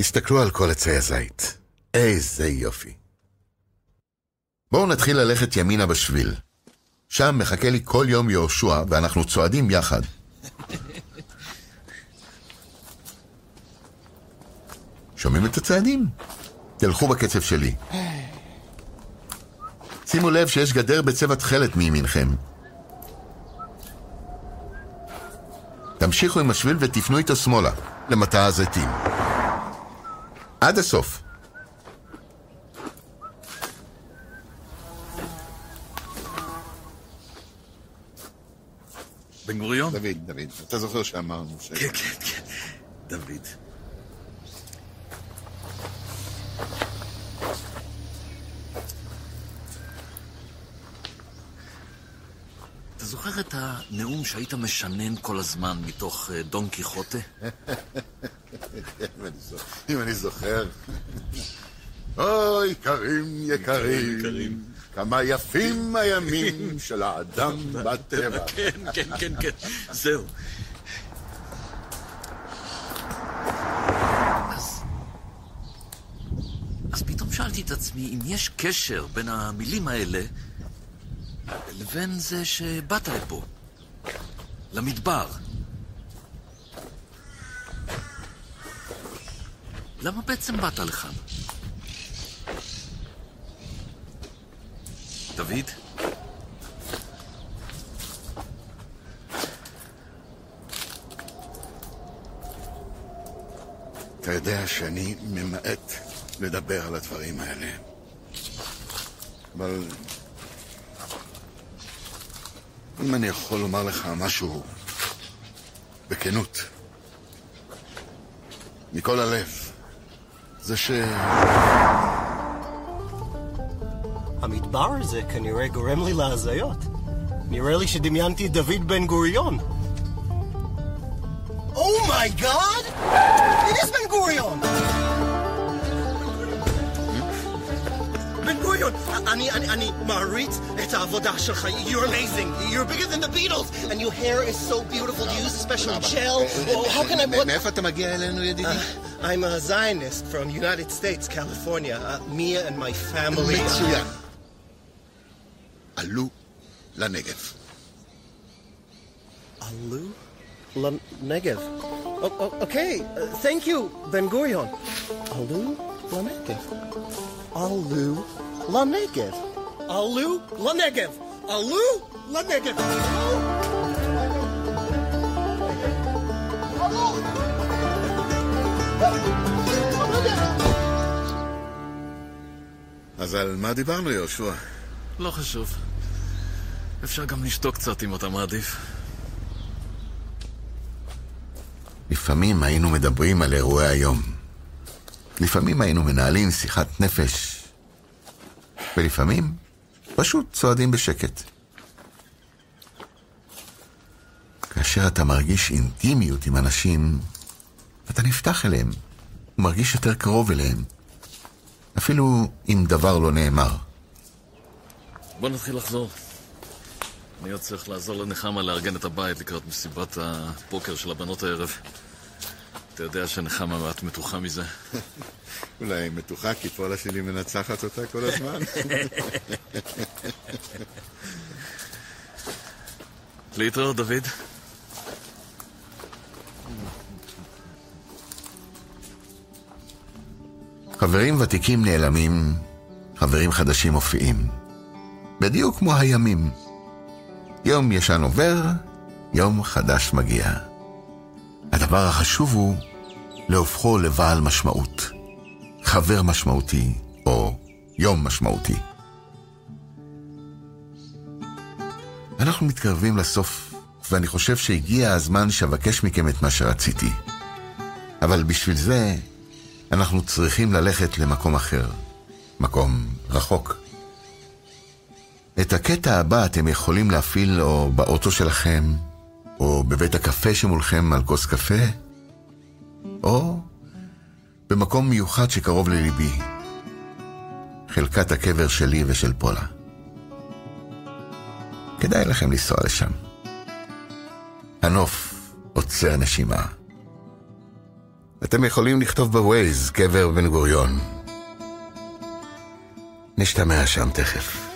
הסתכלו על כל עצי הזית. איזה יופי. בואו נתחיל ללכת ימינה בשביל. שם מחכה לי כל יום יהושע, ואנחנו צועדים יחד. שומעים את הצעדים? תלכו בקצב שלי. שימו לב שיש גדר בצבע תכלת מימינכם. תמשיכו עם השביל ותפנו איתו שמאלה, למטע הזיתים. עד הסוף. בן גוריון? דוד, אתה זוכר שאמרנו ש... כן, דוד. אתה זוכר את הנאום שהיית משנן כל הזמן מתוך דון קיחוטה? אם אני זוכר. אוי, יקרים. כמה יפים הימים של האדם בטבע. כן, זהו. אז פתאום שאלתי את עצמי אם יש קשר בין המילים האלה לבין זה שבאת לפה, למדבר. למה בעצם באת לכאן? דוד? אתה יודע שאני ממעט לדבר על הדברים האלה. אבל אם אני יכול לומר לך משהו בכנות, מכל הלב, זה המדבר הזה כנראה גורם לי להזיות. נראה לי שדמיינתי את דוד בן גוריון. Oh my God! It is בן גוריון! בן גוריון, אני מעריץ את העבודה שלך. You're amazing. You're bigger than the Beatles. And your hair is so beautiful. Do you use a special gel? How can I... מאיפה אתה מגיע אלינו, ידידי? I'm a Zionist from United States, California. Me and my family... מצוין. עלו לנגב. עלו לנגב. Okay, thank you, בן גוריון. עלו לנגב. עלו לנגב. עלו לנגב. עלו לנגב. אז על מה דיברנו, יהושע? לא חשוב. אפשר גם לשתוק קצת אם אתה מעדיף. לפעמים היינו מדברים על אירועי היום. לפעמים היינו מנהלים שיחת נפש. ולפעמים פשוט צועדים בשקט. כאשר אתה מרגיש אינטימיות עם אנשים, אתה נפתח אליהם, ומרגיש יותר קרוב אליהם. אפילו אם דבר לא נאמר. בוא נתחיל לחזור. אני עוד צריך לעזור לנחמה לארגן את הבית לקראת מסיבת הפוקר של הבנות הערב. אתה יודע שנחמה מעט מתוחה מזה. אולי מתוחה כי פולה שלי מנצחת אותה כל הזמן. להתראות, דוד. חברים ותיקים נעלמים, חברים חדשים מופיעים. בדיוק כמו הימים. יום ישן עובר, יום חדש מגיע. הדבר החשוב הוא להופכו לבעל משמעות. חבר משמעותי או יום משמעותי. אנחנו מתקרבים לסוף, ואני חושב שהגיע הזמן שאבקש מכם את מה שרציתי. אבל בשביל זה אנחנו צריכים ללכת למקום אחר. מקום רחוק. את הקטע הבא אתם יכולים להפעיל או באוטו שלכם, או בבית הקפה שמולכם על כוס קפה, או במקום מיוחד שקרוב לליבי, חלקת הקבר שלי ושל פולה. כדאי לכם לנסוע לשם. הנוף עוצר נשימה. אתם יכולים לכתוב בווייז קבר בן גוריון. נשתמע שם תכף.